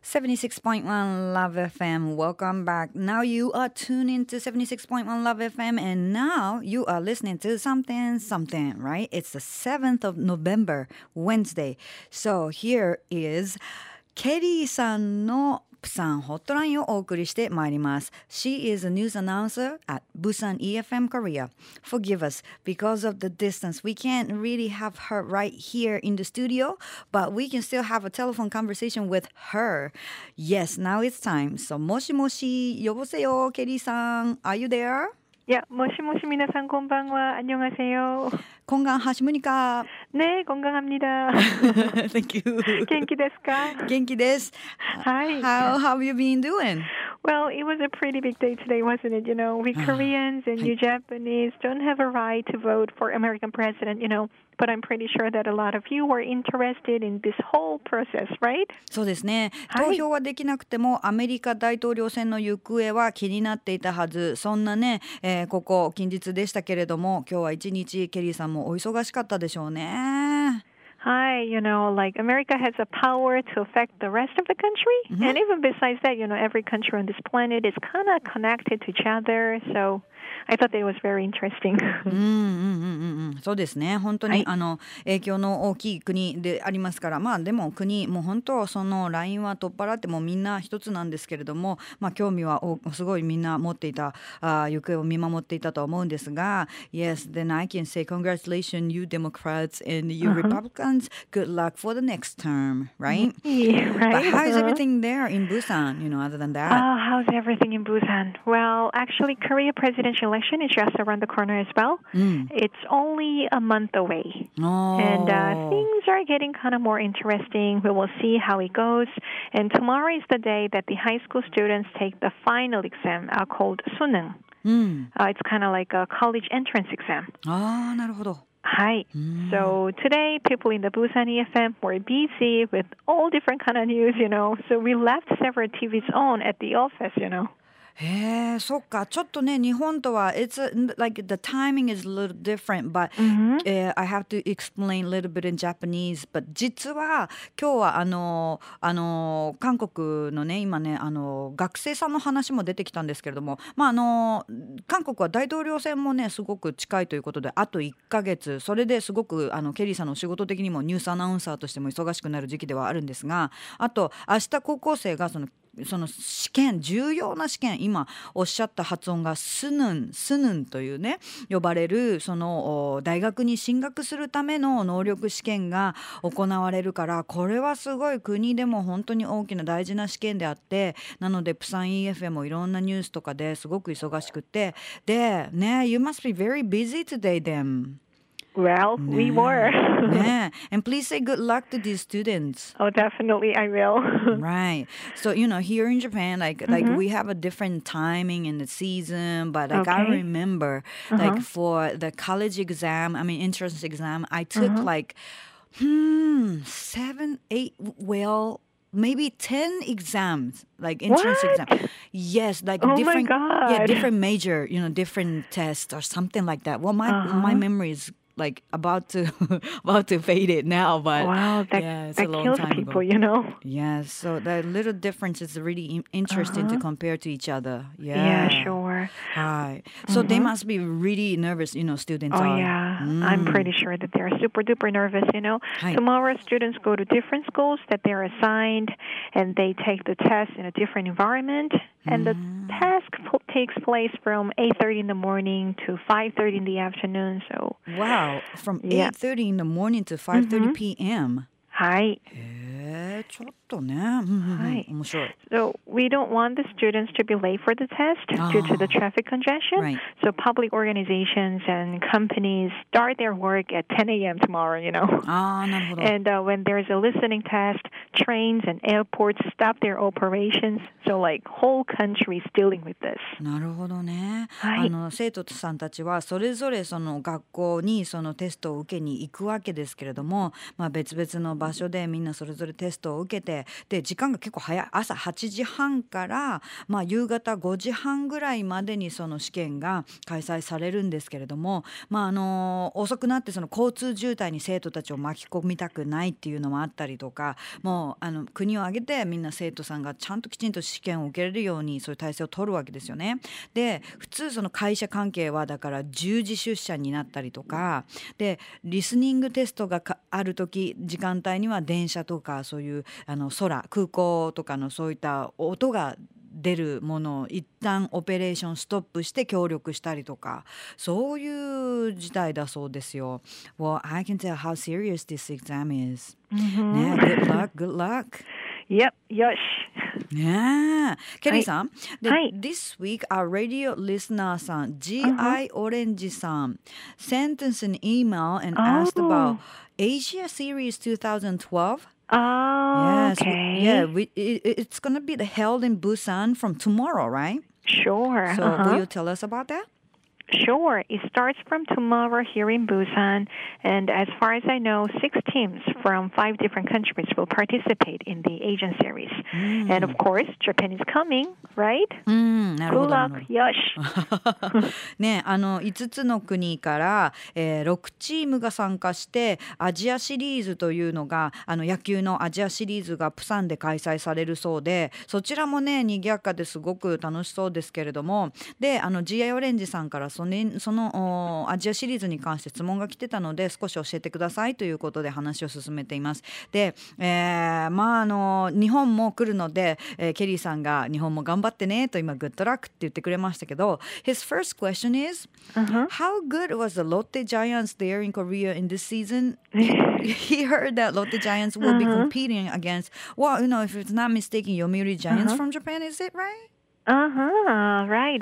76.1 Love FM. Welcome back. Now you are tuned into 76.1 Love FM and now you are listening to something, right? It's the 7th of November, Wednesday. So here is ケリーさんのプサンホットラインをお送りしてまいります。She is a news announcer at Busan EFM Korea. Forgive us, because of the distance, we can't really have her right here in the studio, but we can still have a telephone conversation with her. Yes, now it's time. So, もしもし、呼ぼせよ、ケリーさん。Are you there? 야, 모시모시 미나상 곤방와 안녕하세요. 건강하십니까? 네, 건강합니다. Thank you. 元気ですか? 元気です. Hi. How have you been doing? Well, it was a pretty big day today, wasn't it? You know, we Koreans and you Japanese don't have a right to vote for American president, you know. But I'm pretty sure that a lot of you were interested in this whole process, right? そうですね。投票はできなくても、アメリカ大統領選の行方は気になっていたはず。そんなね、ここ近日でしたけれども、今日は一日ケリーさんもお忙しかったでしょうね。 Hi, you know, like America has a power to affect the rest of the country. And even besides that, you know, every country on this planet is kind of connected to each other. So I thought that it was very interesting. そうですね。本当に、影響の大きい国でありますから、まあでも国もう本当そのラインは取っ払ってもみんな一つなんですけれども、まあ興味はすごいみんな持っていた、行方を見守っていたと思うんですが、Yes, then I can say congratulations, you Democrats and you Republicans. Good luck for the next term, right? Yeah, right. But how is everything there in Busan? You know, other than that. How's everything in Busan? Well, actually, Korea presidential election is just around the corner as well. It's only a month away. Oh. And things are getting kind of more interesting. We will see how it goes. And tomorrow is the day that the high school students take the final exam called 수능. It's kind of like a college entrance exam. なるほど。 Hi. So today, people in the Busan EFM were busy with all different kind of news, you know. So we left several TVs on at the office, you know. へえ、そっか。ちょっとね、日本とは、it's like the timing is a little different, but、I have to explain a little bit in Japanese. But 実は今日は韓国のね、今ね、学生さんの話も出てきたんですけれども、まあ韓国は大統領選もね、すごく近いということで、あと1ヶ月、それですごくケリーさんの仕事的にもニュースアナウンサーとしても忙しくなる時期ではあるんですが、あと明日高校生がその試験、重要な試験、今おっしゃった発音がスヌンというね、呼ばれるその大学に進学するための能力試験が行われるから、これはすごい国でも本当に大きな大事な試験であって、なのでプサン EFM もいろんなニュースとかですごく忙しくて、でね、You must be very busy today then.Well, we were. And please say good luck to these students. Oh, definitely, I will. Right. So, you know, here in Japan, like we have a different timing in the season, but like I remember, like for the college exam, I mean, entrance exam, I took like, 7, 8, well, maybe 10 exams, like entrance exam. Yes, like different, different major, you know, different tests or something like that. Well, my memory is like about to fade it now, but wow, it's a long kills time people, ago. You know. Yes, so the little difference is really interesting to compare to each other. Yeah, sure. Right. So they must be really nervous, you know, students are. Oh, yeah. I'm pretty sure that they're super duper nervous, you know. Tomorrow, students go to different schools that they're assigned, and they take the test in a different environment. And the task takes place from 8:30 in the morning to 5:30 in the afternoon. So wow, from 8:30 in the morning to 5:30 p.m. はい。 ちょっとね、面白い。 So we don't want the students to be late for the test due to the traffic congestion. Right. So public organizations and companies start their work at 10 a.m. tomorrow, you know. なるほど。 And when there's a listening test, trains and airports stop their operations. So like whole country is dealing with this. なるほどね。生徒さんたちはそれぞれその学校にそのテストを受けに行くわけですけれども、まあ別々の場所でみんなそれぞれテストを受けてて、で時間が結構早い、朝8時半から、夕方5時半ぐらいまでにその試験が開催されるんですけれども、遅くなってその交通渋滞に生徒たちを巻き込みたくないっていうのもあったりとか、もう国を挙げてみんな生徒さんがちゃんときちんと試験を受けれるようにそういう体制を取るわけですよね。で普通その会社関係はだから10時出社になったりとかで、リスニングテストがある時時間帯には電車とかそういう空港とかのそういった音が出るものを一旦オペレーションストップして協力したりとか、そういう事態だそうですよ。Well, I can tell how serious this exam is. ね、good luck, good luck. Yep, yosh. ねえ、ケリーさん、で、 はい。 This week our radio listener さん、GI Orange さん sent us an email and asked about Asia Series 2012. Oh, Yes, okay. it's gonna be held in Busan from tomorrow, right? Sure. So will you tell us about that? Sure. It starts from tomorrow here in Busan, and as far as I know, 6 teams from 5 different countries will participate in the Asian series. And of course, Japan is coming, right? なるほ Good ど。 luck, yosh. ね、5つの国から、6チームが参加してアジアシリーズというのが野球のアジアシリーズがプサンで開催されるそうで、そちらもね賑やかですごく楽しそうですけれども、でGIオレンジさんからそのアジアシリーズに関して質問が来てたので少し教えてくださいということで話を進めています。で、日本も来るので、ケリーさんが日本も頑張ってねと今グッドラックって言ってくれましたけど、 His first question is how good was the Lotte Giants there in Korea in this season? He heard that Lotte Giants will be competing against, well, if it's not mistaken, Yomiuri Giants from Japan, is it right? Right.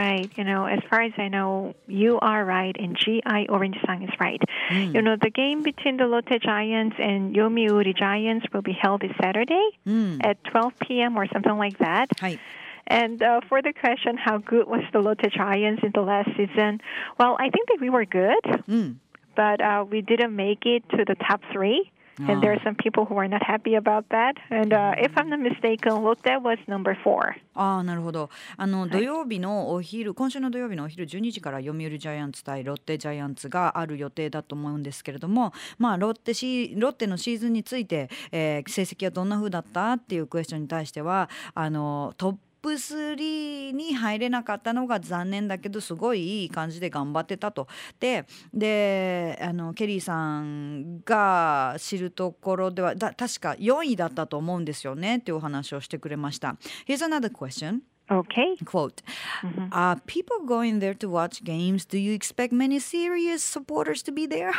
As far as I know, you are right, and GI Orange-san is right. The game between the Lotte Giants and Yomiuri Giants will be held this Saturday at 12 p.m. or something like that. はい。 And for the question, how good was the Lotte Giants in the last season? Well, I think that we were good, but we didn't make it to the top 3. And there are some people who are not happy about that. And if I'm not mistaken, Lotte was number 4. なるほど。土曜日のお昼、今週の土曜日のお昼12時から読売ジャイアンツ対ロッテジャイアンツがある予定だと思うんですけれども、ロッテのシーズンについて、成績はどんな風だったっていうクエスチョンに対してはトップ3に入れなかったのが残念だけどすごいいい感じで頑張ってたと。でケリーさんが知るところでは確か4位だったと思うんですよねっていうお話をしてくれました。 Here's another question. Okay. Quote, people going there to watch games, do you expect many serious supporters to be there?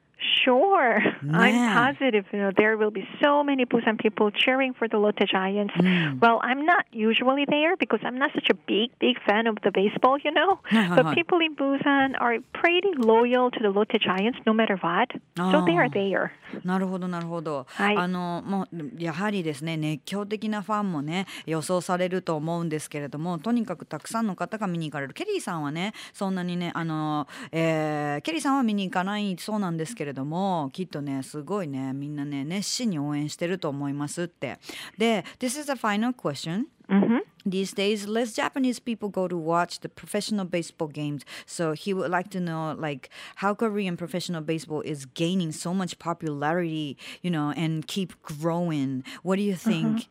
Sure. I'm positive there will be so many Busan people cheering for the Lotte Giants. Well, I'm not usually there because I'm not such a big fan of the baseball, But people in Busan are pretty loyal to the Lotte Giants no matter what. So they are there. なるほどなるほど。 はい。 もうやはりですね、熱狂的なファンもね予想されると思うんですけれども、とにかくたくさんの方が見に行かれる。ケリーさんはねそんなにねケリーさんは見に行かないそうなんですけれども、きっとねすごいねみんなね熱心に応援してると思いますって。で This is a final question. These days, less Japanese people go to watch the professional baseball games. So he would like to know, how Korean professional baseball is gaining so much popularity, and keep growing. What do you think?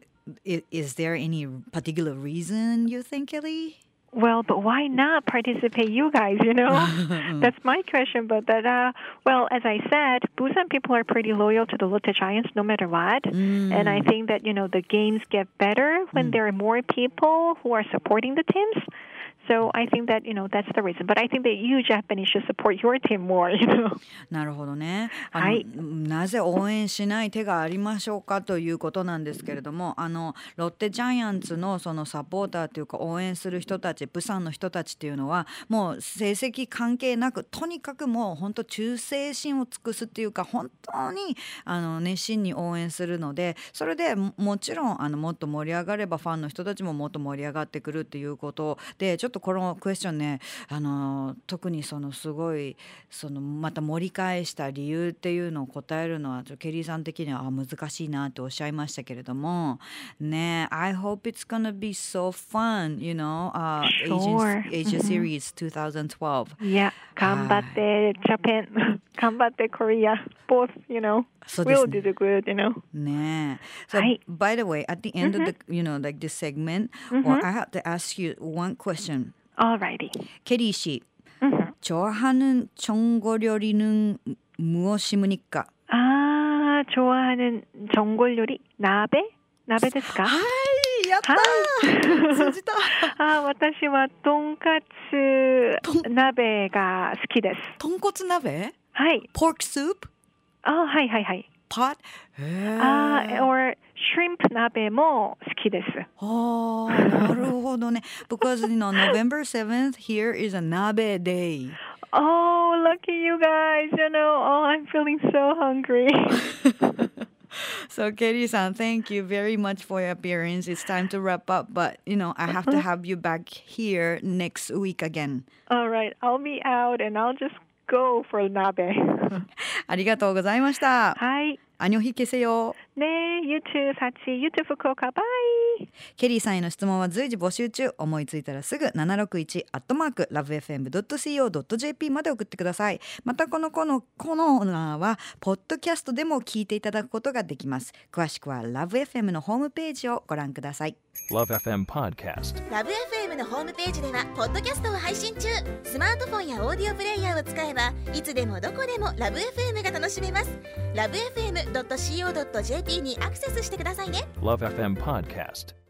Is there any particular reason you think, Kelly? Well, but why not participate, you guys, That's my question. But as I said, Busan people are pretty loyal to the Lotte Giants no matter what. And I think that, the games get better when there are more people who are supporting the teams. So I think that, that's the reason. But I think that you Japanese should support your team more, なるほどね。 はい。 なぜ応援しない手がありましょうかということなんですけれども、ロッテジャイアンツのそのサポーターというか応援する人たち、プサンの人たちっていうのはもう成績関係なくとにかくもう本当忠誠心を尽くすっていうか本当に熱心に応援するので、それでもちろんもっと盛り上がればファンの人たちももっと盛り上がってくるっていうことで、ちょっととこのクエスチョンね、特にすごいまた盛り返した理由っていうのを答えるのはケリーさん的には難しいなっておっしゃいましたけれどもね。I hope it's gonna be so fun, you know, Asia Series 2012. Yeah, 頑張って Japan, 頑張って Korea, both, you know, will do the good, you know. ね。So, by the way, at the end of the, you know, like this segment, or I have to ask you one question. Alrighty. 케리 씨, 좋아하는 전골 요리는 무엇입니까? 좋아하는 전골 요리 나베? 나베 ですか? はい、やったー。通じた。 私はとんかつ鍋が好きです。 豚骨鍋？ はい。 Pork soup？ はいはいはい。 pot？ or shrimp 鍋も好きです。 なるほどね。Because you know November 7th here is a nabe day. Oh, lucky you guys. You know, I'm feeling so hungry. So, Kerry-san, thank you very much for your appearance. It's time to wrap up, but, you know, I have to have you back here next week again. All right. I'll be out and I'll just go for nabe. ありがとうございました。 はい。 안녕히 계세요. 네, you too, 사치. You too, 후쿠오카. Bye. ケリーさんへの質問は随時募集中。思いついたらすぐ761@lovefm.co.jp まで送ってください。またこのコーナーはポッドキャストでも聞いていただくことができます。詳しくは LoveFM のホームページをご覧ください。 LoveFM Podcast。 LoveFM のホームページではポッドキャストを配信中。スマートフォンやオーディオプレイヤーを使えばいつでもどこでも LoveFM が楽しめます。LoveFM.co.jp にアクセスしてくださいね。 LoveFM Podcast。